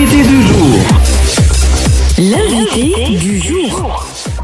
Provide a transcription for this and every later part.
l'invité du jour. L'invité du jour.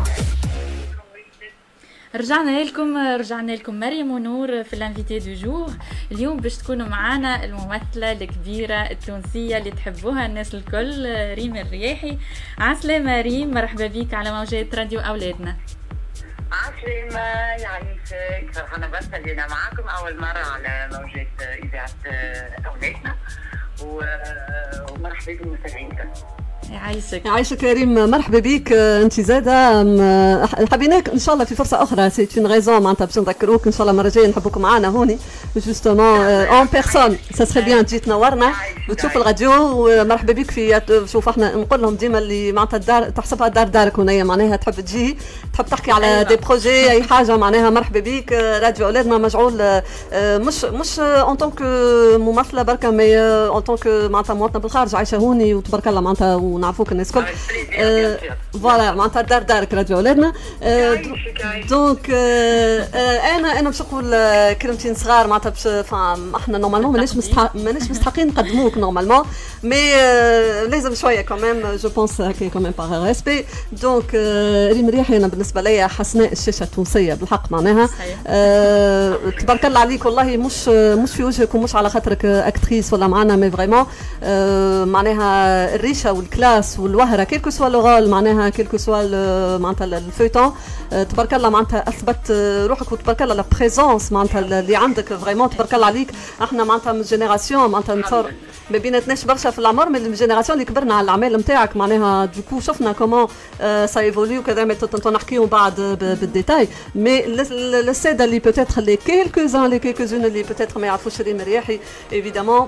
رجعنا لكم مريم ونور في الانفيتي دو جور. اليوم باش تكونوا معنا الممثله الكبيره التونسيه اللي تحبوها الناس الكل، ريم الرياحي. عسلامة ريم، مرحبا بك على موجات راديو اولادنا. عسلامة يعيشك، فرحانة بس اللي أنا معاكم أول مرة على موجات إذاعة أولادنا، ومرحبا بكم مستمعينا. يعيشك يا ريم، مرحبا بك. انت زاده حبيناك ان شاء الله في فرصه اخرى، سي اون ريزون معناتها باش نذكروك ان شاء الله مره جايه نحبوكم معنا هوني جوستومون اون بيرسون. سا سري بيان تجي تنورنا وتشوف الراديو، ومرحبا بك في شوف احنا نقول لهم ديما اللي معناتها الدار تحسبها دارك هنايا، معناها تحب تجي تحب تحكي على دي بروجي اي حاجه، معناها مرحبا بك. راديو اولادنا مجعول مش اون طونك ممثله بركه، مي اون طونك معناتها مواطنه بالخارج عايشه هوني وتبارك الله معناتها ونعرفوك الناس الكل. فوالا معناتها دارك راديو اولادنا. دونك انا باش نقول كلمتين صغار معناتها باش احنا نورمالمون ماناش مستحقين نقدموك نورمالمون، مي لازم شويه كمان جو بونس هكا كمان باغ ريسبي. دونك ريم رياحي انا بالنسبه ليا حسناء الشاشه التونسيه بالحق، معناها تبارك الله عليك والله، مش في وجهك ومش على خاطرك اكتريس ولا معنا، مي فريمون معناها الريشه والكلاس والوهره كيلكو سوا لو رول، معناها كيلكو سوا معناتها الفويتون، تبارك الله معناتها اثبت روحك، وتبارك الله لا بريزونس معناتها اللي عندك فريمون تبارك الله عليك. احنا معناتها من جينيراسيون معناتها نتصور ما بيناتناش برشا في العمر، من الجينيراسيون اللي كبرنا على الاعمال نتاعك، معناها دوكو شفنا كومون سا ايفولي وكذا، مي نحكيو بعد بالديتاي. مي الساده اللي بوتيتر لي كيلكوزون اللي بوتيتر ما يعرفوش ريم رياحي ايفيدامون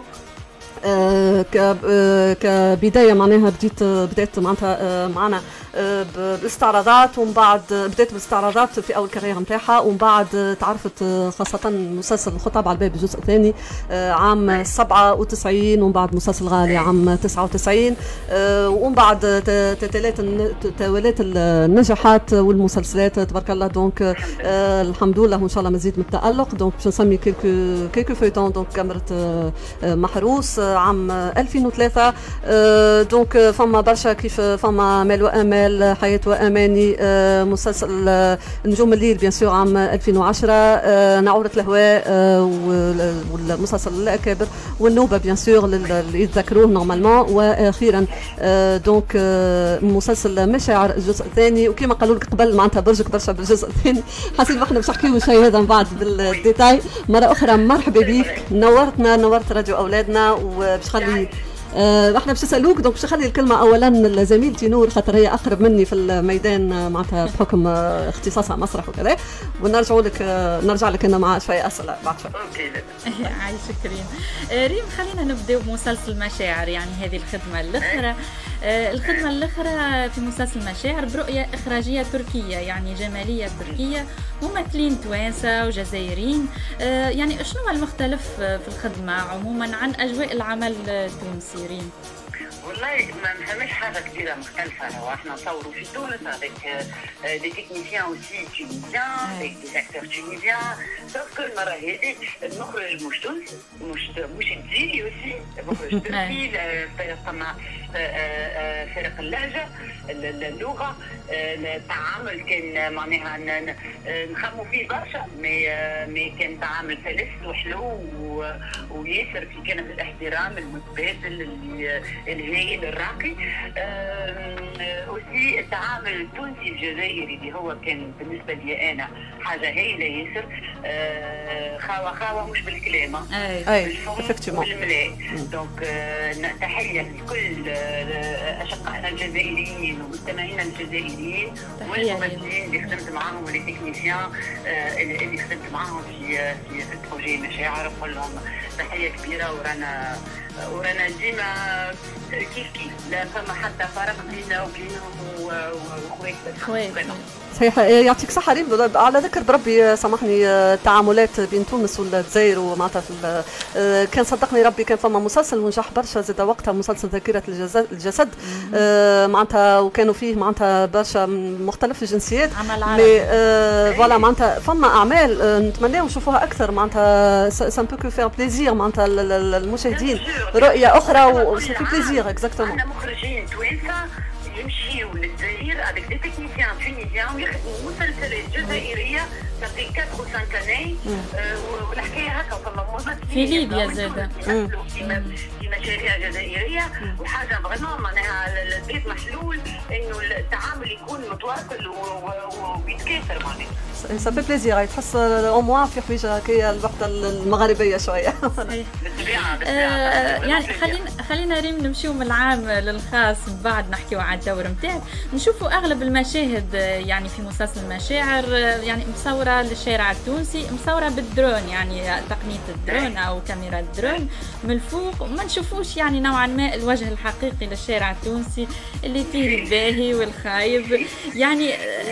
كبدايه معناها بدات معناتها معنا بالاستعراضات، ومن بعد بدات بالاستعراضات في اول كارير نتاعها، ومن بعد تعرفت خاصه مسلسل الخطاب على الباب الجزء الثاني عام 97، ومن بعد مسلسل غالي عام 99، ومن بعد توالت النجاحات والمسلسلات تبارك الله. دونك الحمد لله وان شاء الله مزيد من التالق. دونك باش نسمي كيلكو فويتون. دونك كاميرا محروس عام 2003. دونك فما برشا كيف فما مال وامال، حياه واماني، مسلسل نجوم الليل بيان سور عام 2010، نعورة الهواء، والمسلسل الاكابر، والنوبه بيان سور اللي يتذكروه نورمالمون، واخيرا دونك مسلسل مشاعر الجزء الثاني. وكما قالوا لك قبل معناتها برجك برشا بالجزء الثاني، حسيت احنا باش نحكيو شيء هذا من بعد بالديتاي. مره اخرى مرحبا بك، نورت راديو اولادنا. وباش خلي احنا باش نسالوك، دونك باش نخلي الكلمه اولا لزميلتي نور خاطر هي اقرب مني في الميدان معناتها بحكم اختصاصها مسرح وكذا، نرجع لك انا مع شويه اسئله بعد شوي. اوكي عايشك ريم. ريم خلينا نبداو بمسلسل مشاعر، يعني هذه الخدمه الاخرى في مسلسل مشاعر برؤيه اخراجيه تركيه، يعني جماليه تركيه، ممثلين توانسه وجزائريين. يعني شنو المختلف في الخدمه عموما عن اجواء العمل التونسي ريم؟ والله ما نفهمش حاجه كبيره مختلفه. هو احنا نصوروا في تونس افيك دي تكنيسيان اوسي تونيزيان، افيك دي اكتور تونيزيان، سوف كل مره هذه المخرج مش تونسي، مش جزائري اوسي، مخرج تركي، فما فرق اللهجه، اللغه، التعامل كان معناها نخموا فيه برشا، مي كان تعامل سلس وحلو وياسر في كان الاحترام المتبادل الهائل الراقي. وسي التعامل التونسي الجزائري اللي هو كان بالنسبه لي انا حاجه هائله ياسر، خاوه مش بالكلام، بالفم والملاء. دونك تحيه لكل اشقائنا الجزائريين ومستمعينا الجزائريين والممثلين اللي خدمت معاهم والتكنيسيان اللي خدمت معاهم في بروجي مشاعر. نقول لهم تحيه كبيره، ورانا ديما كيف لا فما حتى فرق بيننا وبينهم وخوات. صحيح، يعطيك صحة ريم. على ذكر بربي سامحني، التعاملات بين تونس والجزائر ومعناتها كان صدقني ربي كان فما مسلسل ونجح برشا زاد وقتها، مسلسل ذاكرة الجسد معناتها، وكانوا فيه معناتها برشا مختلف الجنسيات. فوالا معناتها فما أعمال نتمناو نشوفوها أكثر، معناتها سان بو كو فير بليزير معناتها المشاهدين رؤيه اخرى وسي في بليزير اكزاكتومون. احنا مخرجين توانسه يمشيوا للجزائر افيك دي تكنيسيان تونيزيان ويخدموا مسلسلات جزائريه صافي 4 و 5 اني والحكايه هكا فما ممثلين في ليبيا زاده في مشاريع جزائريه وحاجه فريمون معناها البيت محلول انه التعامل يكون متواصل ويتكاثر معناها. صافي بليزير يتحس او موان في حوايج هكايا الوحده المغربيه شويه. يعني خلينا ريم نمشيو من العام للخاص من بعد نحكيو على الدور نتاعك. نشوفوا اغلب المشاهد يعني في مسلسل مشاعر يعني مصوره للشارع التونسي، مصوره بالدرون يعني تقنيه الدرون او كاميرا الدرون من الفوق، وما نشوفوش يعني نوعا ما الوجه الحقيقي للشارع التونسي اللي فيه الباهي والخايب يعني.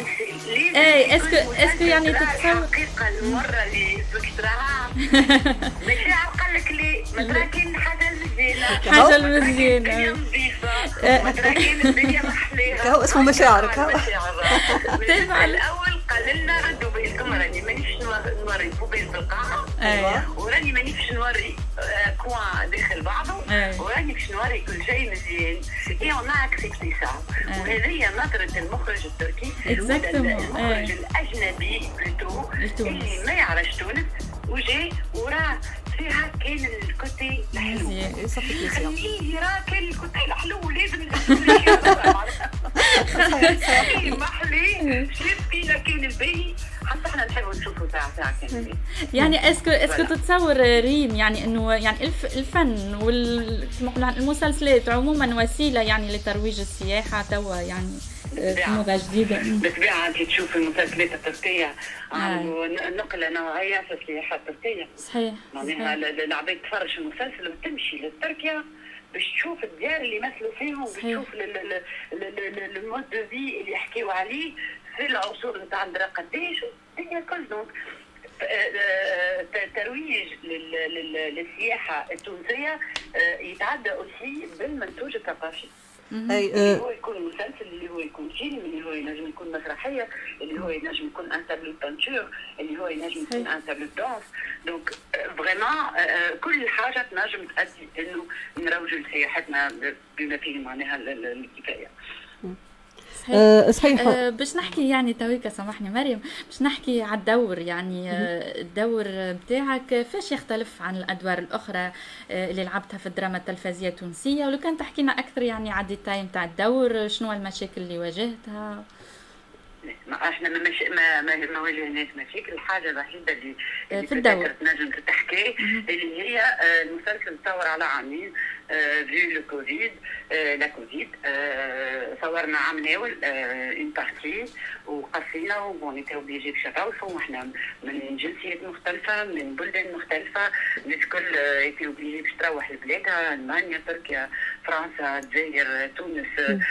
اسكو يعني تتصور الحقيقه المره اللي ذكرتها مشاعر قال لك لي متراكين حاجه مزيانه حاجه مزيانه متراكين الدنيا محليها هو اسمه مشاعرك. الاول قال لنا ردوا بالكم راني مانيش نوري فوبيز بالقاعه وراني مانيش نوري كوان داخل بعضه وراني باش نوري كل شيء مزيان اي اون اكسبتي سا. وهذه نظره المخرج التركي المخرج الاجنبي بلوتو اللي ما يعرفش تونس وجاي وراه فيها كان الكوتي الحلو خليه يرى كان الكوتي الحلو ولازم محلي شاف فينا كان الباهي حتى احنا نحبوا نشوفوا ساعة كان يعني اسكو تتصور ريم يعني انه يعني الفن والمسلسلات عموما وسيله يعني لترويج السياحه توا يعني موضة جديدة بالطبيعة انت تشوف المسلسلات التركية نقلة نوعية في السياحة التركية. صحيح معناها العباد تفرج المسلسل وتمشي لتركيا باش تشوف الديار اللي يمثلوا فيهم، باش تشوف المود دو في اللي يحكيوا عليه في العصور نتاع الدرا قداش الدنيا الكل. دونك ترويج للسياحة التونسية يتعدى اوسي بالمنتوج الثقافي. اللي هو يكون مسلسل، اللي هو يكون فيلم، اللي هو ينجم يكون مسرحيه، اللي هو ينجم يكون ان تابلو بانتور، اللي هو ينجم يكون ان تابلو دانس. دونك فريمون كل حاجه تنجم تؤدي انه نروجوا لسياحتنا بما فيه معناها الكفايه. صحيح. باش نحكي يعني تويكا سامحني مريم، باش نحكي على الدور يعني الدور نتاعك فاش يختلف عن الادوار الاخرى اللي لعبتها في الدراما التلفزيونيه التونسيه، ولو كان تحكينا اكثر يعني على الديتاي نتاع الدور، شنو المشاكل اللي واجهتها؟ احنا ما واجهناش مشاكل. الحاجه الوحيده اللي في الدور نجم تحكي اللي هي المسلسل تصور على عامين فيو لو كوفيد لا كوفيد. صورنا عام ناول اون بارتي وقصينا وبونيتي اوبليجي باش نروحوا وحنا من جنسيات مختلفه من بلدان مختلفه، الناس الكل ايتي اوبليجي باش تروح لبلادها، المانيا، تركيا، فرنسا، الجزائر، تونس،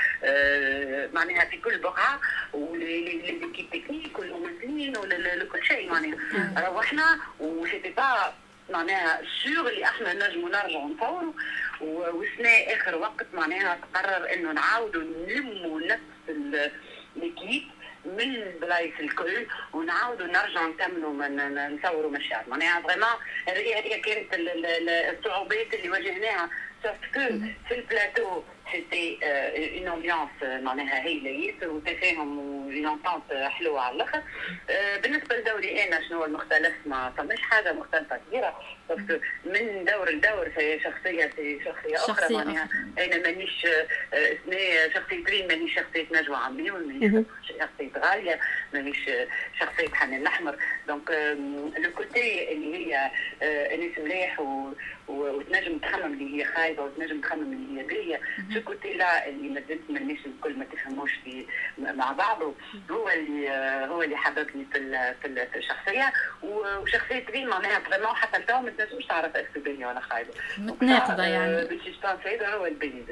معناها في كل بقعه وليكيب تكنيك والممثلين وكل شيء معناها روحنا وسيتي با معناها سور اللي احنا نجموا نرجعوا نصوروا. والسنه اخر وقت معناها تقرر انه نعاودوا نلموا نفس الكيب من البلايص الكل ونعاودوا نرجعوا نكملوا نصوروا مشاهد. معناها فريمون هذه كانت الصعوبات اللي واجهناها. sauf que في البلاتو سيتي اون امبيونس معناها هايله ياسر وتفاهم ولونتونت حلوه على الاخر. بالنسبه لدوري انا شنو المختلف؟ ما فماش حاجه مختلفه كبيره، sauf من دور لدور في شخصيه اخرى. معناها انا مانيش شخصيه ريم، مانيش شخصيه نجوى عميون، مانيش شخصيه غاليه، مانيش شخصيه حنان الاحمر. دونك لو كوتي اللي هي انيس مليح وتنجم تخمم اللي هي خايبه وتنجم تخمم اللي هي باهيه، شو كوتي لا اللي مازلت مانيش الكل ما تفهموش مع بعضه، هو اللي حببني في الشخصيه. وشخصيه ريم معناها فريمون حتى التو ما تنجمش تعرف اسكو باهيه ولا خايبه، متناقضه يعني. باش هذا هو الباهي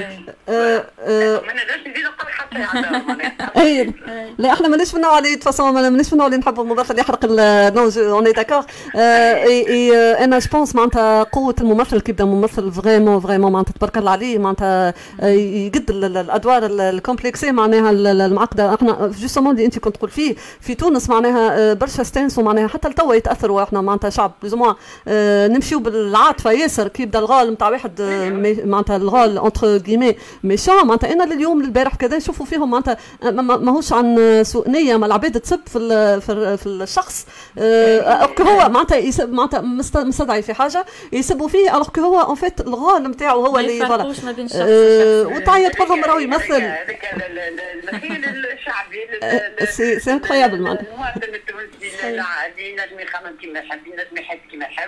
ما نقدرش نزيد نقول حتى يعني. لا احنا مانيش من النوع اللي تفاصون مانيش من النوع اللي نحبوا الممثل اللي يحرق النوج. اوني داكور. انا جو بونس معناتها قوه الممثل كيبدا ممثل فريمون معناتها تبارك الله عليه معناتها يقد الادوار الكومبلكسيه معناها المعقده. احنا جوستومون اللي انت كنت تقول فيه في تونس معناها برشا استانسوا معناها حتى لتوا يتاثروا احنا معناتها شعب بلوزمون نمشيو بالعاطفه ياسر كي يبدا الغال نتاع واحد معناتها الغال اونتر كيمي ميشون معناتها انا لليوم للبارح كذا نشوفوا فيهم معناتها ماهوش عن سوء نيه ما العباد تسب في الشخص هو معناتها مستدعي في حاجه يسبوا فيه الوغ هو اون فيت الغال نتاعو هو اللي فوالا وتعيط تقول لهم راهو يمثل هذاك المثيل الشعبي سي انكرويابل معناتها المواطن التونسي العادي ينجم يخمم كيما يحب ينجم يحس كيما يحب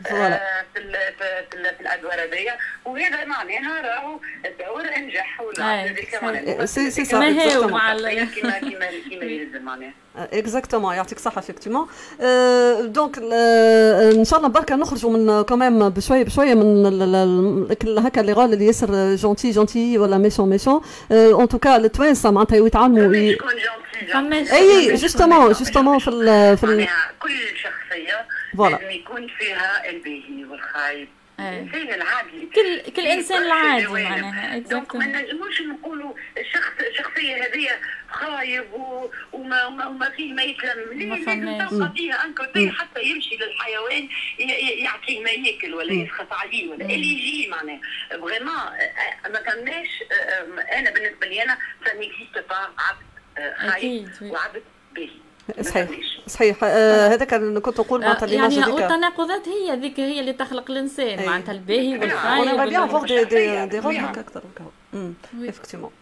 في الادوار هذيا وهذا معناها راهو الدور انجح ولا سي كما هي مع كيما يلزم معناها اكزاكتومون يعطيك الصحه افكتيمون دونك ان شاء الله بركه نخرجوا من كمان بشويه من هكا اللي غال اللي ياسر جونتي ولا ميشون اون توكا التوانسه معناتها يتعلموا اي جوستومون في كل شخصيه لازم يكون فيها الباهي والخايب الانسان العادي كل انسان العادي معناها دونك ما نجموش نقولوا الشخصيه هذه خايب وما فيه ما يتلم لازم تبقى فيها انكوتي حتى يمشي للحيوان يعطيه ما ياكل ولا يسخط عليه ولا اللي يجي معناها فريمون ما كناش انا بالنسبه لي انا سا نيكزيست با عبد خايب وعبد باهي صحيح هذا كان كنت نقول معناتها يعني التناقضات هي ذيك هي اللي تخلق الانسان معناتها الباهي والخايب انا بيان فوق دي غول هكا اكثر افكتيمون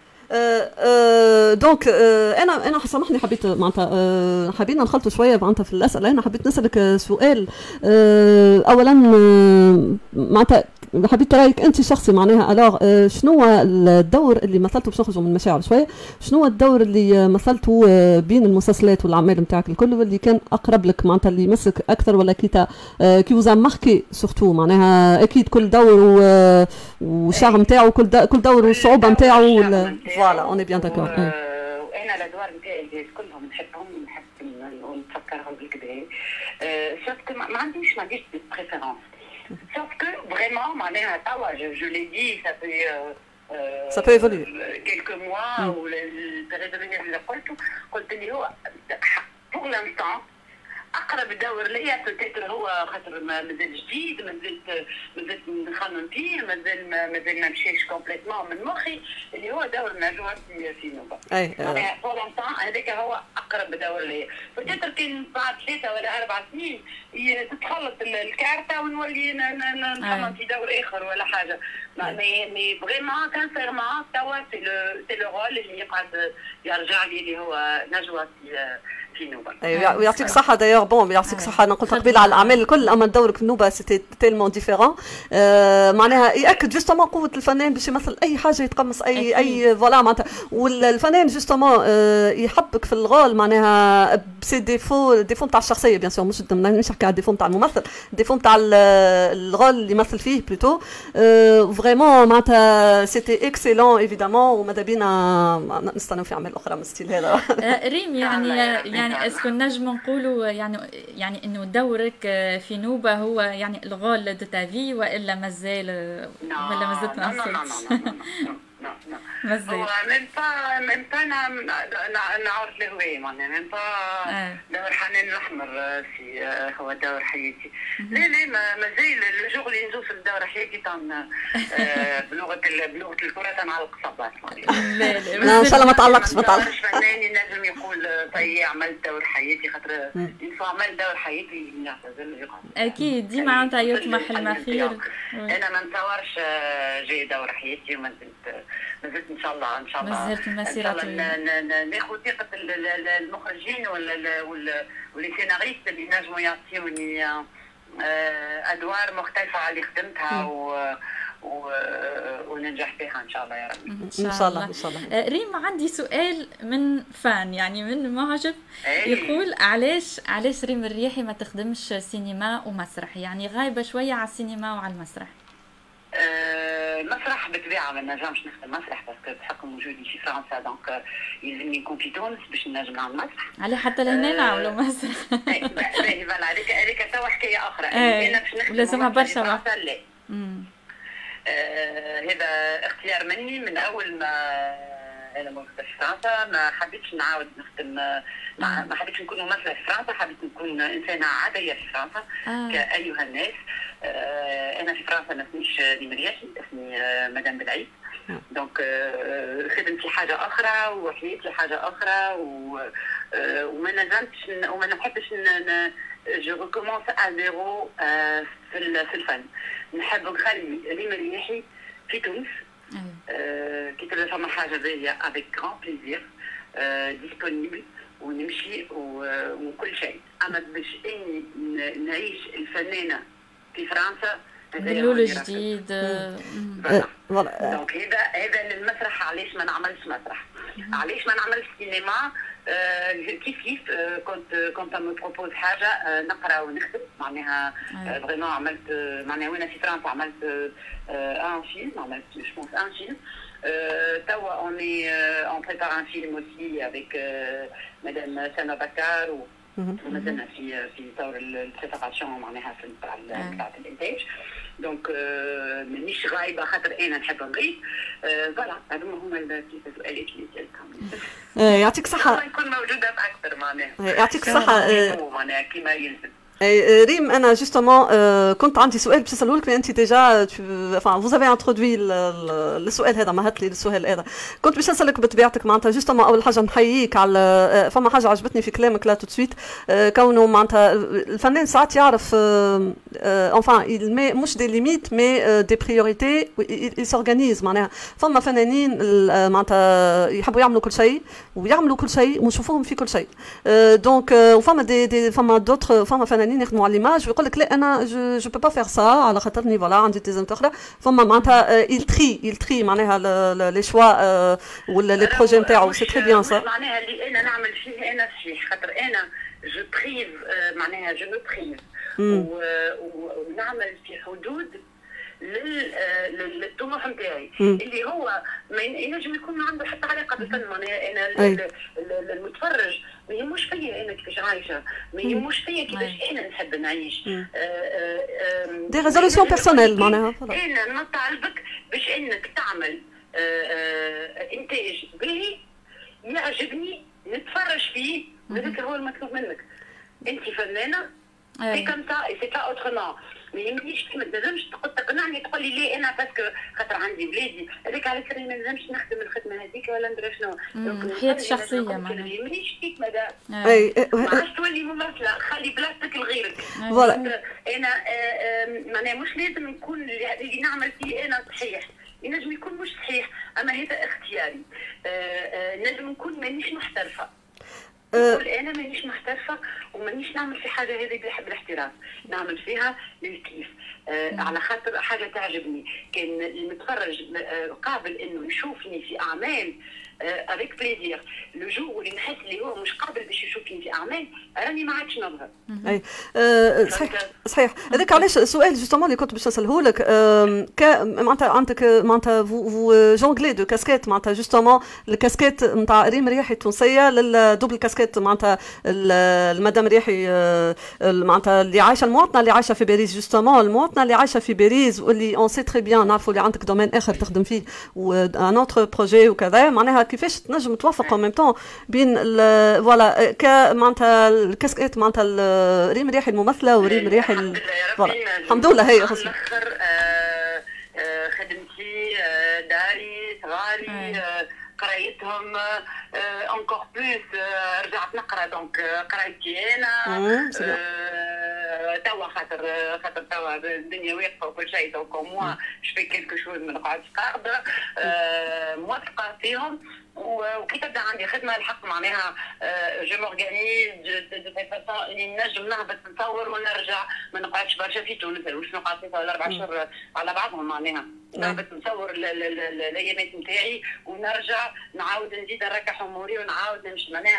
دونك انا سامحني حبيت معناتها حبينا نخلطوا شويه معناتها في الاسئله. انا حبيت نسالك سؤال اولا معناتها حبيت رايك انت شخصي معناها الوغ شنو هو الدور اللي مثلته باش نخرجوا من المشاعر شويه شنو هو الدور اللي مثلته بين المسلسلات والاعمال نتاعك الكل واللي كان اقرب لك معناتها اللي يمسك اكثر ولا كي وزا ماركي سورتو معناها اكيد كل دور والشعر نتاعو كل دور والصعوبه نتاعو فوالا اون بيان داكور. وانا الادوار نتاعي كلهم نحبهم ونحب نفكرهم بالكدا سوف ما عنديش دي بريفيرونس sauf que vraiment معناها توا je l'ai dit ça peut évoluer quelques mois ou البريود اللي قلت لي هو pour l'instant اقرب دور ليا بوتيتر هو خاطر مازال جديد مازلت نخمم فيه مازال ما مشيش كومبليتمون من مخي اللي هو دور نجوى في نوبه. يعني بور لونتون هذاك هو اقرب دور ليا بوتيتر كان بعد 3 ولا 4 سنين تتخلط الكارته ونولي نخمم في دور اخر ولا حاجه. مي فريمون كانسيرمون توا سي لو رول اللي يقعد يرجع لي اللي هو نجوى في نوبه. ويعطيك الصحه دايوغ بون يعطيك الصحه. انا قلت قبيله على الاعمال الكل اما دورك في النوبه سيتي تيلمون ديفيرون معناها ياكد جوستومون قوه الفنان باش يمثل اي حاجه يتقمص اي فوالا معناتها والفنان جوستومون يحبك في الغول معناها بسي ديفو نتاع الشخصيه بيان سور مش نحكي على الديفو نتاع الممثل الديفو نتاع الغول اللي يمثل فيه بلوتو فريمون معناتها سيتي اكسيلون ايفيدامون وماذا بينا نستناو في اعمال اخرى من الستيل هذا. ريم يعني اسكو نجم نقولوا يعني انه دورك في نوبه هو يعني الغول دو تافي والا مازال ولا مازلت ما هو ميم با نعرف الهواية معناها ميم با دور حنان الأحمر في هو دور حياتي. لا مازال الجوغ اللي نزوف الدور حياتي بلغة الكرة تنعلق صباط لا ان شاء الله ما تعلقش فنان ينجم يقول طيب عملت دور حياتي خاطر عملت دور حياتي يعتزل أكيد دي معناتها يطمح المخير. أنا ما نتصورش جاي دور حياتي وما زلت ان شاء الله مازالت المسيره ناخذ ثقه المخرجين واللي سيناريست اللي نجموا يعطيوني ادوار مختلفه على اللي خدمتها وننجح فيها ان شاء الله يا رب. ان شاء الله ان شاء الله. ريم عندي سؤال من فان يعني من معجب يقول علاش ريم الرياحي ما تخدمش سينما ومسرح يعني غايبه شويه على السينما وعلى المسرح؟ المسرح بالطبيعه ما نجمش نخدم مسرح باسكو بحكم وجودي في فرنسا دونك يلزمني نكون في تونس باش نجم نعمل مسرح. على حتى لهنا نعملوا مسرح. باهي فوالا هذيك توا حكايه اخرى. انا باش نخدم لازمها برشا لا هذا اختيار مني من اول ما انا موجوده في فرنسا. ما حبيتش نعاود نخدم، ما حبيتش نكون ممثله في فرنسا، حبيت نكون انسانه عاديه في فرنسا كايها الناس. انا في فرنسا ما اسميش ريم رياحي، اسمي مدام بالعيد. دونك خدمتي حاجه اخرى وحياتي حاجه اخرى، وما نجمتش وما نحبش جو ريكومونس ا زيرو في الفن. نحب نخلي ريم رياحي في تونس كي تبدا فما حاجه باهيه افيك غران بليزير ديسپونيبل ونمشي وكل شيء. اما باش اني نعيش الفنانه في فرنسا باللول جديد. دونك هذا المسرح. علاش ما نعملش مسرح؟ علاش ما نعملش سينما؟ كيف كنت مو بروبوز حاجه نقرا ونخدم معناها فريمون. عملت معناها وانا في فرنسا عملت ان فيلم، عملت جو بونس ان فيلم. توا اوني اون بريبار ان فيلم اوسي افيك مدام سما بكار ومازلنا في طور البريباراسيون معناها بتاعت الانتاج. دونك مانيش غايبه خاطر انا نحب نغيب. فوالا هذوما هما السؤالات اللي سالتهم. يعطيك الصحه. نكون موجوده باكثر معناها. يعطيك الصحه. معناها كيما يلزم. ريم انا جوستومون كنت عندي سؤال باش نساله لك، انت ديجا فوز افي انترودوي السؤال هذا، مهت لي السؤال هذا. كنت باش نسالك بطبيعتك معناتها جوستومون اول حاجه نحييك على فما حاجه عجبتني في كلامك لا تو سويت، كونه معناتها الفنان ساعات يعرف انفان مش دي ليميت مي دي بريوريتي يسورغانيز. معناها فما فنانين معناتها يحبوا يعملوا كل شيء ويعملوا كل شيء ونشوفوهم في كل شيء. دونك وفما فما دوتر فما فنانين يخدموا على ليماج ويقول لك لا انا جو بو با فير سا على خاطرني فوالا عندي تيزمت اخرى. فما معناتها يلتري معناها لي شوا ولا لي بروجي نتاعو. سي تري بيان سا. معناها اللي انا نعمل فيه انا فيه خاطر انا جو بريف معناها جو مو بريف ونعمل في حدود للطموح نتاعي اللي هو ما ينجم يكون ما عنده حتى علاقه بالفن. معناها انا المتفرج ما يهموش فيا انا كيفاش عايشه، ما يهموش فيا كيفاش انا نحب نعيش. دي ريزوليسيون بيرسونيل. معناها انا نطالبك باش انك تعمل انتاج باهي يعجبني نتفرج فيه، وهذاك هو المطلوب منك. انت فنانه سي كم سا اي سي با اوترومون. ما يهمنيش ما تنجمش تقنعني تقول لي ليه انا باسكو خاطر عندي بلادي هذاك على كري ما نجمش نخدم الخدمه هذيك ولا ندير شنو. حياتي الشخصيه معناها ما يهمنيش فيك ماذا ما عادش تولي ممثله، خلي بلاصتك لغيرك. فوالا انا معناها مش لازم نكون اللي نعمل فيه انا صحيح، ينجم يكون مش صحيح اما هذا اختياري. نجم نكون مانيش محترفه، نقول انا مانيش محترفه ومانيش نعمل في حاجه هذه بالاحتراف، نعمل فيها للكيف على خاطر حاجه تعجبني. كان المتفرج قابل انه يشوفني في اعمال افيك بليزير لو جور اللي نحس اللي هو مش قابل باش يشوفني في اعمال راني ما عادش نظهر. اي صحيح. هذاك علاش السؤال جوستومون اللي كنت باش نساله لك معناتها عندك معناتها فو جونغلي دو كاسكيت معناتها جوستومون الكاسكيت نتاع ريم رياحي التونسيه للدوبل كاسكيت معناتها المدام رياحي معناتها اللي عايشه المواطنه اللي عايشه في باريس جوستومون المواطنه اللي عايشه في باريس واللي اون سي تري بيان نعرفوا اللي عندك دومين اخر تخدم فيه وان اوتر بروجي وكذا. معناها كيفاش تنجم توافق ان ميم طون بين فوالا معناتها الكاسكيت معناتها ريم رياحي الممثله وريم رياحي الحمد لله. هي خصنا خدمتي داري صغاري قرايتهم انكور بلوس رجعت نقرا دونك قرايتي انا توا خاطر توا الدنيا واقفه وكل شيء دونك موا جو في كيلكو شوز ما نقعدش قاعده موثقه فيهم. وكي تبدا عندي خدمه الحق معناها جو مورغانيز دو فاسون اللي نجم نهبط نصور ونرجع، ما نقعدش برشا في تونس مش نقعد 3 ولا 4 شهور على بعضهم. معناها نهبط نصور الايامات نتاعي ونرجع نعاود نزيد نركح اموري ونعاود نمشي. معناها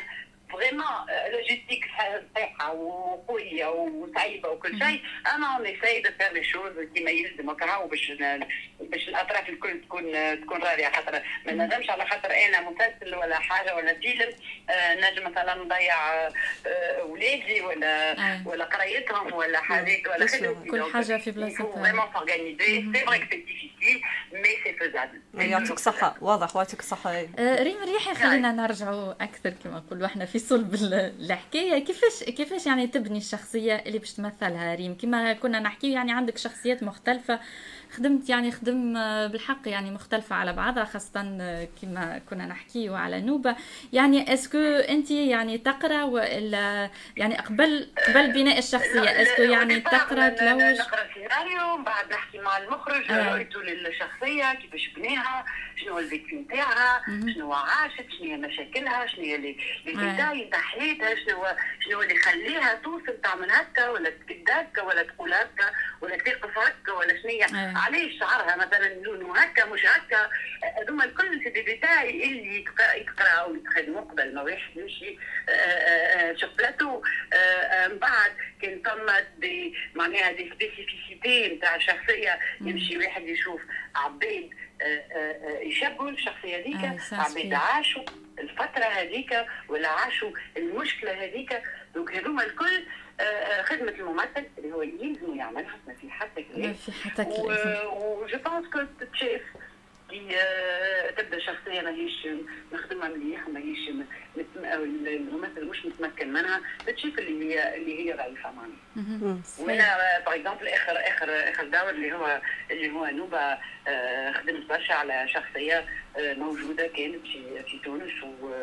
فريمون لوجيستيك صحيحه وقويه وصعيبه وكل شيء، اما اون ايساي دو فير لي شوز كيما يلزم هكا باش الاطراف الكل تكون راضيه. خاطر ما نجمش على خاطر انا مسلسل ولا حاجه ولا فيلم نجم مثلا نضيع ولادي ولا قرايتهم ولا حاجات ولا خدمتي. كل حاجه في بلاصتها. فريمون سورغانيزي سي فري كو سي ديفيسيل مي سي فيزابل. يعطيك الصحه، واضح يعطيك الصحه. ريم رياحي، خلينا نرجعوا اكثر كما نقولوا احنا في صلب الحكايه. كيفاش يعني تبني الشخصيه اللي باش تمثلها ريم؟ كما كنا نحكي يعني عندك شخصيات مختلفه، خدم بالحق يعني مختلفه على بعضها، خاصه كما كنا نحكي على نوبه. يعني اسكو انت يعني تقرا ولا يعني قبل بناء الشخصيه اسكو يعني تقرا تلوج؟ نقرا سيناريو، بعد نحكي مع المخرج رؤيته للشخصيه كيفاش بناها، شنو هو الفيكتي نتاعها، شنو عاشت، شنو هي مشاكلها، شنو هي اللي ديتاي نتاع حياتها، شنو اللي يخليها توصل تعمل هكا ولا تكد هكا ولا تقول هكا ولا تقف هكا ولا شنو علاش شعرها مثلا لونه هكا مش هكا. هذوما الكل في ديتاي اللي يقراو ويتخدموا قبل ما واحد يمشي شوف بلاتو. من بعد كان ثم معناها دي سبيسيفيسيتي نتاع الشخصيه، يمشي واحد يشوف عباد يشبهوا الشخصيه هذيك، عباد عاشوا الفتره هذيك ولا عاشوا المشكله هذيك. دونك هذوما الكل خدمه الممثل اللي هو يلزم يعملها ما في حتى كلام. وجو بونس كو تتشاف كي تبدا شخصيه ماهيش نخدمها مليح، ماهيش الممثل مش متمكن منها، تتشاف اللي هي ضعيفه معناها. وانا باغ اكزومبل اخر دور اللي هو نوبه خدمت برشا على شخصيه موجوده كانت في تونس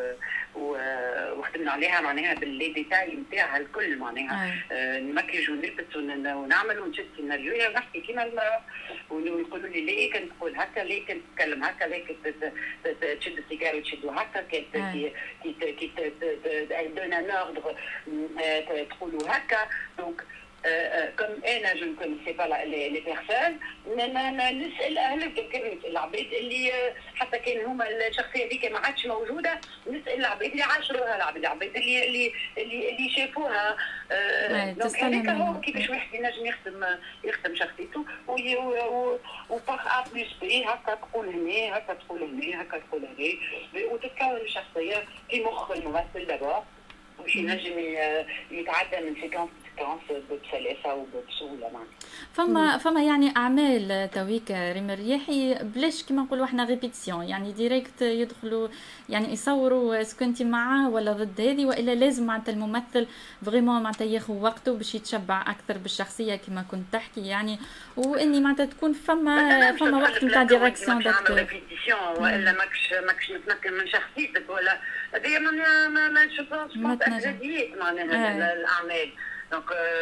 وخدمنا عليها معناها باللي ديتاي نتاعها الكل معناها نمكج ونلبس ونعمل ونشد سيناريو ونحكي كيما المراه ويقولوا لي ليه كنت تقول هكا، ليه كنت تتكلم هكا، ليه كنت تشد السيجاره وتشدوا هكا، كي دون ان اوردر تقولوا هكا. دونك comme انا جو ne connaissais pas les personnes نسال اهل العباد اللي حتى كان هما الشخصيه هذيك ما عادش موجوده، نسال العباد اللي عاشروها، العباد اللي شافوها. دونك هذاك هو كيفاش واحد ينجم يخدم شخصيته وباغ ا بلوس بي هكا تقول هنا هكا تقول هنا هكا تقول هنا، وتتكون الشخصيه في مخ الممثل دابا باش ينجم يتعدى من سيكونس بسلاسه وبسهوله معناها. فما يعني اعمال تويك ريم الرياحي بلاش كيما نقولوا احنا ريبيتيسيون، يعني ديريكت يدخلوا يعني يصوروا اسكو انت معاه ولا ضد هذه، والا لازم معناتها الممثل فريمون معناتها ياخذ وقته باش يتشبع اكثر بالشخصيه كما كنت تحكي يعني، واني معناتها تكون فما وقت نتاع ديريكسيون داكتور. ريبيتيسيون والا ماكش متمكن من شخصيتك ولا هذه ما شوفوش ابجديات معناها الاعمال. دونك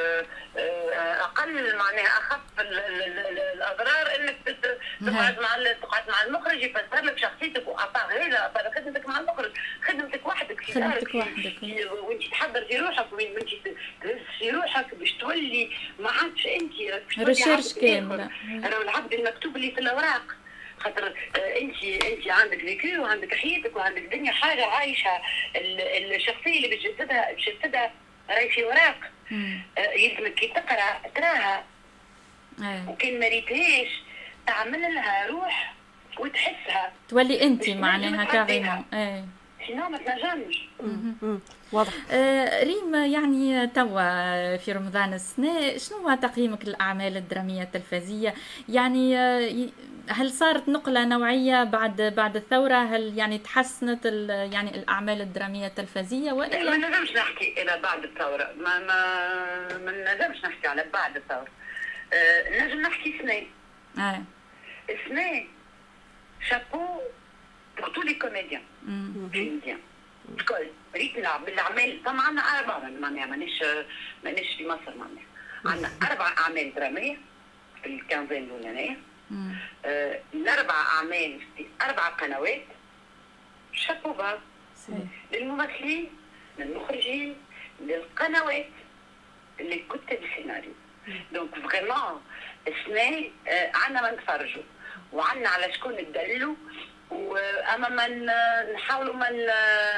اقل معناها اخف الاضرار انك تقعد مع المخرج يفسر لك شخصيتك، وابار هذا ابار خدمتك مع المخرج، خدمتك وحدك في دارك وانت تحضر في روحك وانت تهز في روحك باش تولي ما عادش انت ريشيرش كامله. راهو العبد المكتوب اللي في الاوراق، خاطر انت عندك فيكو وعندك حياتك وعندك دنيا حاجه عايشه. الشخصيه اللي باش تجسدها راهي في اوراق، يلزمك كي تقرا تراها، وكان ما ريتهاش تعمل لها روح وتحسها تولي انت معناها كاريمون. سينو ما تنجمش. واضح. ريم يعني توا في رمضان السنة، شنو هو تقييمك للأعمال الدرامية التلفزية؟ يعني هل صارت نقلة نوعية بعد الثورة؟ هل يعني تحسنت يعني الأعمال الدرامية التلفزية وإلا؟ ما نجمش نحكي إلى بعد الثورة، ما نجمش نحكي على بعد الثورة. نجم نحكي سنة. سنة شابو pour tous les comédiens tunisiens. الكل ريت نلعب بالأعمال. طبعا عندنا 4 معناها مانيش في مصر معناها. عندنا 4 أعمال درامية في الكانزين الأولانية. ال4 أعمال في 4 قنوات. شابو با للممثلين، للمخرجين، للقنوات، لكتاب السيناريو. دونك فريمون السنة عندنا ما نتفرجوا وعندنا على شكون ندلوا، واما ما نحاولوا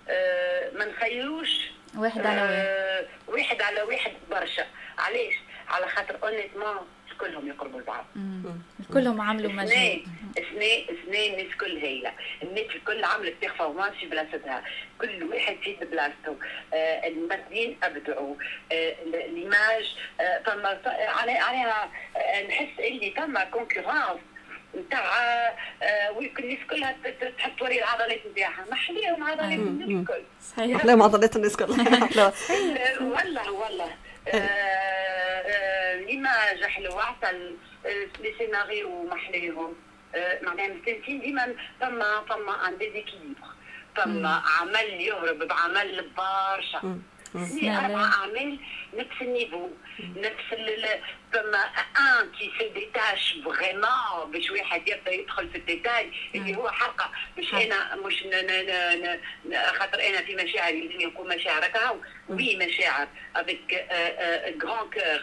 ما نخيروش واحد على واحد، واحد على واحد برشا. علاش؟ على خاطر اونيتمون كلهم يقربوا لبعض، كلهم عملوا مجهود. اثنين الناس الكل هايله، الناس الكل عملت بيرفورمانس في بلاصتها، كل واحد في بلاصته. الممثلين ابدعوا، ليماج فما عليها نحس اللي فما كونكورونس نتاع الناس كلها تحب توري العضلات نتاعها. محليهم عضلات الناس الكل، صحيح، محليهم عضلات الناس الكل. والله ليماج حلوه، حتى لي سيناريو محليهم. معناها مستانسين ديما فما ان ديزيكيليبر، فما عمل يهرب بعمل برشا. 4 أعمال نفس النيفو، نفس فما ان كي سي دي تاش فريمون باش واحد يبدا يدخل في الديتاي اللي هو حلقه. باش انا مش خاطر انا في مشاعري لازم نكون مشاعر هكا، وي مشاعر افيك غران كور،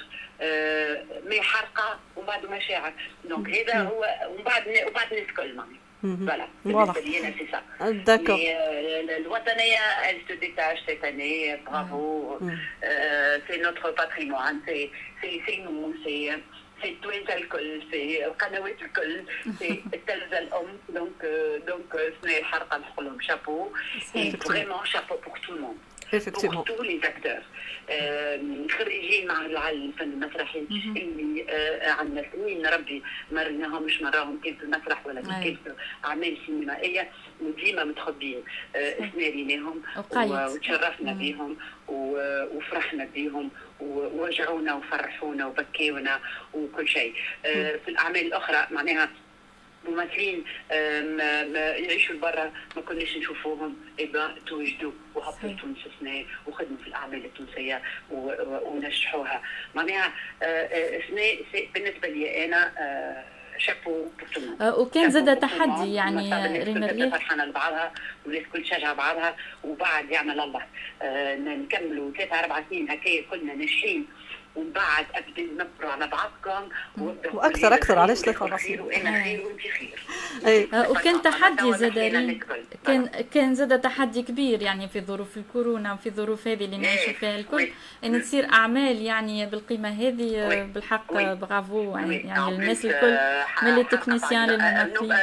مي حلقه ومن بعد مشاعر. دونك هذا هو، ومن بعد الناس الكل معناها. Voilà, c'est ça. D'accord. Mais l'Ouattanaïa, elle se détache cette année, bravo. C'est notre patrimoine, c'est nous, c'est tous les alcools, c'est Qanawat al-Kol, c'est Talza al-Om. Donc, ce n'est Harqa al-Kholom, chapeau. Et vraiment, chapeau pour tout le monde. Pour tous les acteurs. خريجين مع الفن المسرحي اللي عندنا سنين ربي ما رناهمش مراهم كيف في المسرح ولا كيف في اعمال سينمائيه، وديما متخبين. سناريناهم وتشرفنا بهم وفرحنا بهم ووجعونا وفرحونا وبكيونا وكل شيء. في الاعمال الاخرى معناها ممثلين يعيشوا برا ما كناش نشوفوهم، توجدوا وهبطوا تونس سنة وخدموا في الأعمال التونسية ونجحوها. معناها سنة بالنسبة لي أنا شابو. وكان زاد تحدي يعني ريم الريح فرحانة لبعضها والناس كل شجع بعضها، وبعد يعمل الله نكملوا 3-4 سنين هكايا كلنا ناجحين، ومن بعد ابدا نبروا على بعضكم واكثر علاش 3 سنين وانا خير وانت خير. وكان تحدي زاد كان زاد تحدي كبير يعني في ظروف الكورونا وفي ظروف هذه اللي نعيشوا فيها الكل، ان تصير اعمال يعني بالقيمه هذه. بالحق برافو يعني الناس الكل من لي تكنيسيان للممثلين.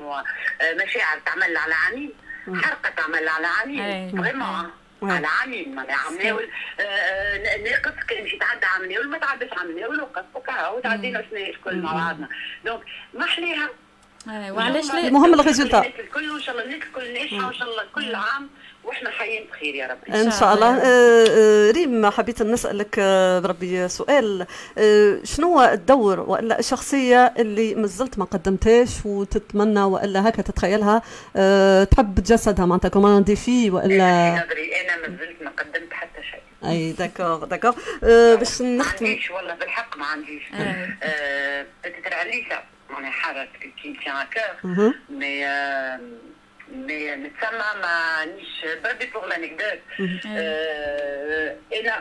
مشاعر تعمل على عميل، حرقه تعمل على عميل فريمون على عامين. معناها عمناول ناقص كان مشي تعدى عمناول ما تعداش عمناول وقف وكا وتعدينا سنين الكل مع بعضنا. دونك ما حليها. وعلاش لا؟ المهم الريزولتا. الكل وان شاء الله الناس الكل ناجحه وان شاء الله كل عام واحنا حيين بخير يا رب ان شاء الله. ريم حبيت نسالك بربي سؤال، شنو الدور والا الشخصيه اللي مازلت ما قدمتهاش وتتمنى والا هكا تتخيلها تحب تجسدها معناتها كمان ديفي والا؟ انا مازلت ما قدمت حتى شيء. اي داكور باش نختم. ما عنديش والله بالحق ما عنديش. بتتر عليسا معناها حاجه كي تيان كور mais نتسمى مانيش بربي بور لانكدوت. انا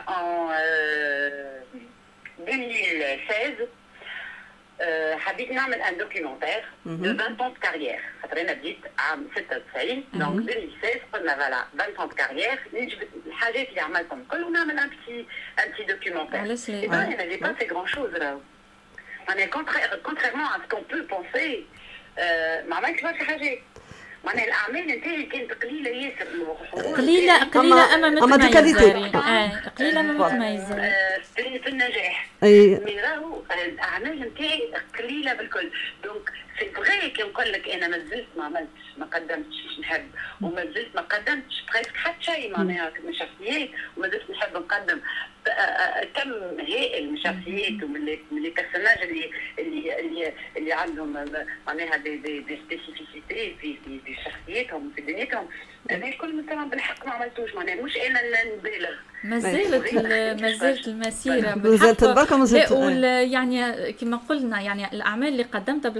en 2016 حبيت نعمل ان دوكيومونتير دو 20 ans de carrière. خاطر انا بديت عام 96 دونك 2016 قلنا فوالا 20 ans de carrière نجبد الحاجات اللي عملتهم الكل ونعمل ان بتي دوكيومونتير. انا جي با سي غران شوز راهو. انا contrairement à ce qu'on peut penser ما عملتش برشا حاجات. معناها الاعمال نتاعي كانت قليله ياسر، قليله اما متميزه. قليله اما متميزه في النجاح. مي راهو الاعمال نتاعي قليله بالكل. دونك سي فغي كي نقول لك انا مازلت ما عملتش ما قدمتش نحب، ومازلت ما قدمتش بريسك حتى شيء معناها من شخصيات، ومازلت نحب نقدم كم هائل من شخصيات ومن لي بيرسوناج اللي عندهم معناها دي سبيسيفيسيتي في شخصياتهم في دنيتهم. هذا الكل مثلا بالحق ما عملتوش. معناها مش انا اللي نبالغ، ما زالت المسيره مازالت بركه مازالت يعني كما قلنا يعني الاعمال اللي قدمتها بالحق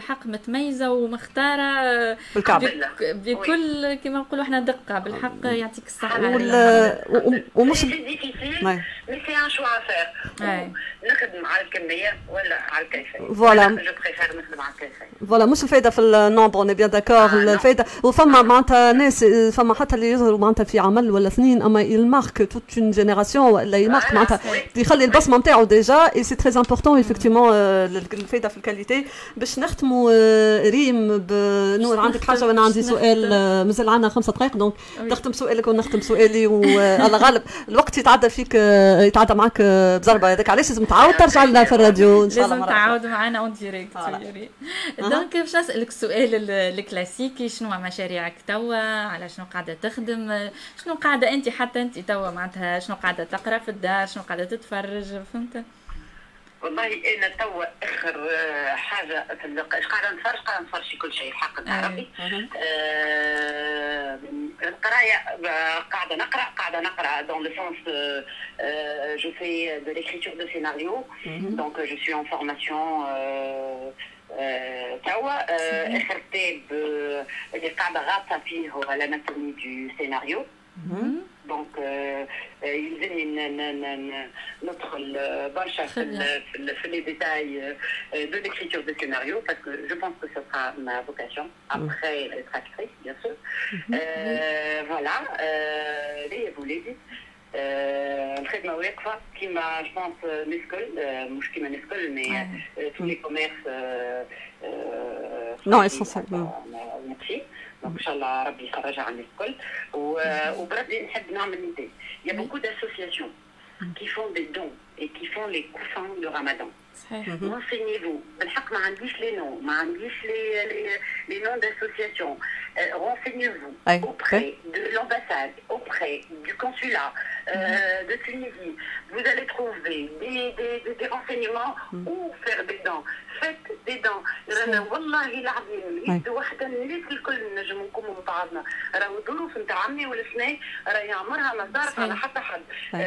متميزه ومختاره بكل كما نقولوا احنا دقه بالحق. يعطيك الصحه. ومش سي ان شوا فير نخدم على الكميه ولا على الكيفيه. فوالا جو بريفير نخدم على الكيفيه. فوالا مش الفايده في النومبر اوني بيان داكور. الفايده وفما معناتها ناس فما حتى اللي يظهروا معناتها في عمل ولا سنين اما يلمارك توت اون جينيراسيون ولا يلمارك معناتها يخلي البصمه نتاعو ديجا اي سي تري امبورطون ايفيكتيمون الفايده في الكاليتي. باش نختموا ريم بنور عندك حاجه وانا عندي سؤال مازال عندنا 5 دقائق دونك تختم سؤالك ونختم سؤالي وعلى غالب الوقت يتعدى فيك يتعدى معك بضربه. هذاك علاش لازم تعاود ترجع لنا في الراديو ان شاء الله. لازم تعاودوا معنا اون ديريكت. دونك باش نسالك السؤال الكلاسيكي شنو مشاريعك توا؟ على شنو قاعده تخدم؟ شنو قاعده انت حتى انت توا معناتها شنو قاعده تقرا في الدار؟ شنو قاعده تتفرج؟ فهمت؟ والله انا توا اخر حاجه في قاعده نتفرج في كل شيء الحق العربي. القرايه قاعده نقرا دون لو سونس جو في دو ليكريتور دو سيناريو دونك جو سوي ان فورماسيون توا. اخر كتاب اللي قاعده غاطه فيه هو الاناتومي دو سيناريو. دونك يلزمني ندخل برشا في لي ديتاي دو ليكريتور دو سيناريو باسكو جو بونس كو سو سرا ما فوكاسيون ابخي être actrice bien sûr. فوالا لي وليدي الخدمه واقفه كيما جو بونس نسكل مش كيما نسكل مي تو لي كوميرس نو اسونسيال ماشي. دونك ان شاء الله ربي يفرجها عن الكل. وبربي نحب نعمل نداء. Il y a beaucoup d'associations qui font des dons et qui font les coussins de Ramadan. Renseignez-vous. بالحق ما عنديش les noms, ما عنديش les noms d'associations. Renseignez-vous auprès de l'ambassade, auprès du consulat de Tunisie. Vous allez trouver des renseignements où faire des dons. Faites des dons. والله العظيم يد وحده الناس الكل نجم نقوموا ببعضنا. راهو الظروف نتاع عمي والسنين راهي عمرها ما صارت على حتى حد.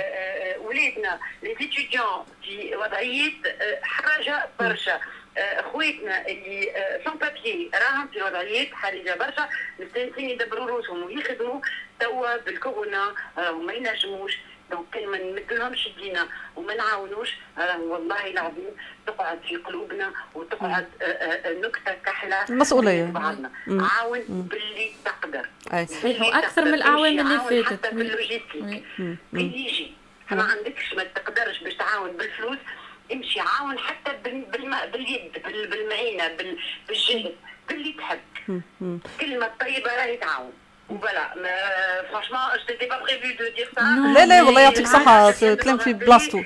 ولادنا لي ستوديون في وضعيات حاجه برشا. خواتنا اللي سون بابيي راهم في وضعيات حرجه برشا مستانسين يدبروا روسهم ويخدموا توا بالكورونا وما ينجموش. دونك كان ما نمدلهمش يدينا وما نعاونوش والله العظيم تقعد في قلوبنا وتقعد نكته كحله مسؤوليه بعضنا. عاون باللي تقدر. صحيح واكثر من الاعوام اللي فاتت. حتى في اللوجيستيك يجي ما عندكش ما تقدرش باش تعاون بالفلوس امشي عاون حتى باليد بالمعينه بالجهد باللي تحب. كلمه طيبه راهي تعاون. وبلا فرانشمون جيتي با بريفو دو دير سا. لا والله يعطيك الصحه كلام في بلاصتو.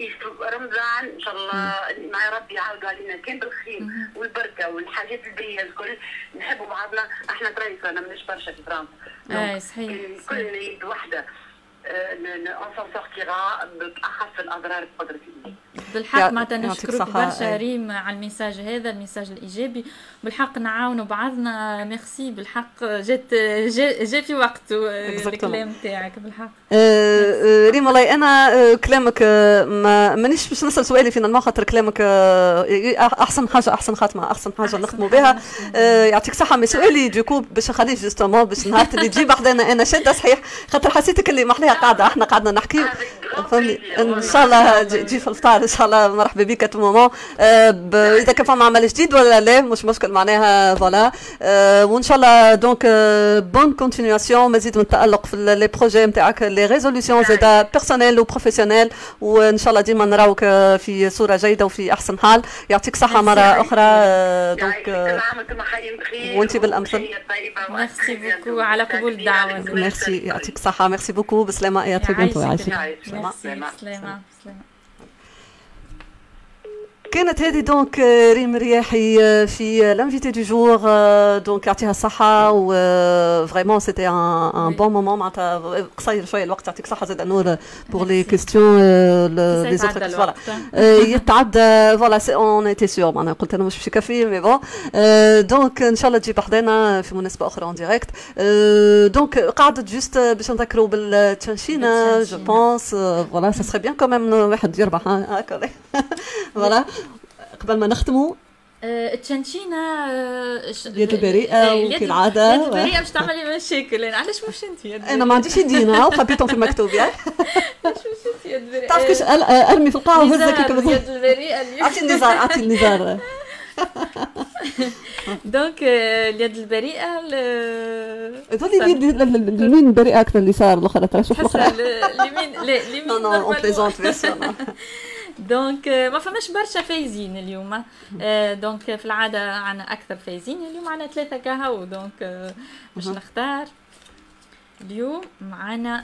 رمضان ان شاء الله مع ربي يعاودوا علينا كان بالخير والبركه والحاجات البيئه الكل نحبوا بعضنا. احنا ترايسه انا مانيش برشا في فرنسا. صحيح كلنا يد وحده on s'en sortira بأخف الأضرار بقدرة الله. بالحق معناتها نشكرك برشا ريم على الميساج هذا الميساج الإيجابي. بالحق نعاونوا بعضنا. ميرسي بالحق جا في وقته الكلام تاعك بالحق. ريم والله أنا كلامك مانيش باش نسأل سؤالي فينا خاطر كلامك أحسن حاجة أحسن خاتمة أحسن حاجة نختموا بها. يعطيك صحة. مي سؤالي دوكو باش نخليه جوستومون باش نهار اللي تجي بحدنا أنا شادة صحيح خاطر حسيتك اللي محليها قاعدة احنا قعدنا نحكي فهمني ان شاء الله تجي في الفطار ان شاء الله. مرحبا بك ات مومون. اذا كان فما عمل جديد ولا لا مش مشكل معناها فوالا. وان شاء الله دونك بون كونتينياسيون مزيد من التالق في لي بروجي نتاعك لي ريزوليسيون زادا بيرسونيل وبروفيسيونيل وان شاء الله ديما نراوك في صوره جيده وفي احسن حال. يعطيك صحه مره اخرى. دونك وانت بالامثل. ميرسي بوكو على قبول الدعوه. ميرسي يعطيك صحه. ميرسي بوكو. بسلامه يا تريبينتو. يعيشك. سلامه. كانت هذه دونك ريم رياحي في لانفيتي دو جور. دونك يعطيها الصحة و فريمون سيتي ان بون مومون معناتها قصير شوية الوقت. يعطيك الصحة زاد نور بور لي كيستيون لي زوتر فوالا يتعدى فوالا اون ايتي سيور معناها قلت انا مش باش يكفي مي بون. دونك ان شاء الله تجي بحدنا في مناسبة أخرى اون ديريكت. دونك قعدت جوست باش نذكروا بالتشانشينة جو بونس فوالا سا سري بيان كوميم واحد يربح هكا فوالا. قبل ما نختموا التشنشينه اليد البريئه كالعاده. اليد البريئه باش تعملي مشاكل. علاش مش انت يد انا ما عنديش يدينا وخبيتهم في المكتوب يا علاش مش انت يد بريئه؟ تعرف كيش ارمي في القاع وهزك كيف اليد البريئه اعطي النزار دونك اليد البريئه تولي اليمين بريئه اكثر اليسار الاخرى ترى شوف الاخرى اليمين لا اليمين نو اون بليزونت فيرسيون. دونك ما فماش برشا فايزين اليوم. دونك في العاده عنا اكثر فايزين، اليوم عنا 3 كهو. دونك باش نختار اليوم معنا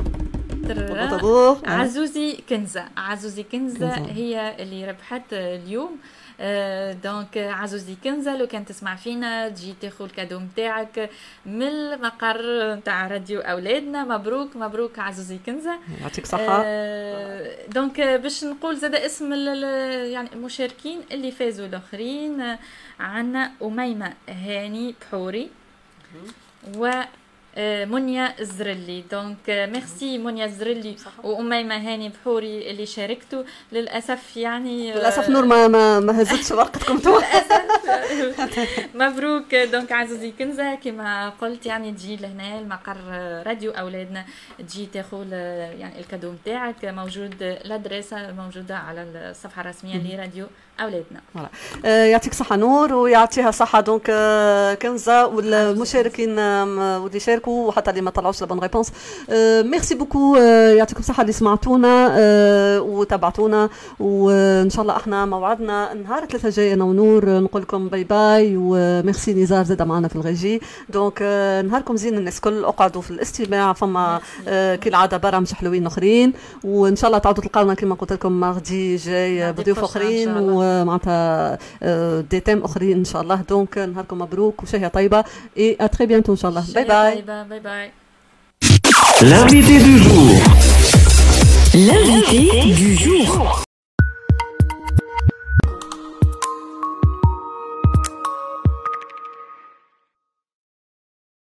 عزوزي كنزه. عزوزي كنزه هي اللي ربحت اليوم. دونك عزوزي كنزه لو كان تسمع فينا تجي تاخذ الكادو نتاعك من المقر نتاع راديو اولادنا. مبروك مبروك عزوزي كنزه، يعطيك صحه. دونك باش نقول زاد اسم يعني المشاركين اللي فازوا الاخرين. عندنا أميمة هاني بحوري و منيا الزرلي. دونك ميرسي منيا الزرلي وأميمة هاني بحوري اللي شاركتوا. للأسف يعني للأسف نور ما هزتش ورقتكم مبروك. دونك عزوزي كنزة كما قلت يعني تجي لهنا المقر راديو أولادنا، تجي تاخذ يعني الكادو نتاعك. موجود الادريسة موجودة على الصفحة الرسمية لراديو أولادنا. يعطيك صحة نور ويعطيها صحة دونك كنزة والمشاركين واللي شاركوا وحتى اللي ما طلعوش لبون ريبونس. ميرسي بوكو، يعطيكم صحة اللي سمعتونا وتابعتونا. وإن شاء الله احنا موعدنا نهار 3 جاي أنا ونور نقول لكم باي باي. وميرسي نزار زاد معنا في الغيجي. دونك نهاركم زين الناس كل اقعدوا في الاستماع. فما كالعادة برامج حلوين اخرين وان شاء الله تعودوا تلقاونا كما قلت لكم ماغدي جاي بضيوف اخرين ومعناتها دي تيم اخرين ان شاء الله. دونك نهاركم مبروك وشهيه طيبه اي ا تري بيانتو ان شاء الله. باي باي باي باي. L'invité du jour. L'invité du jour.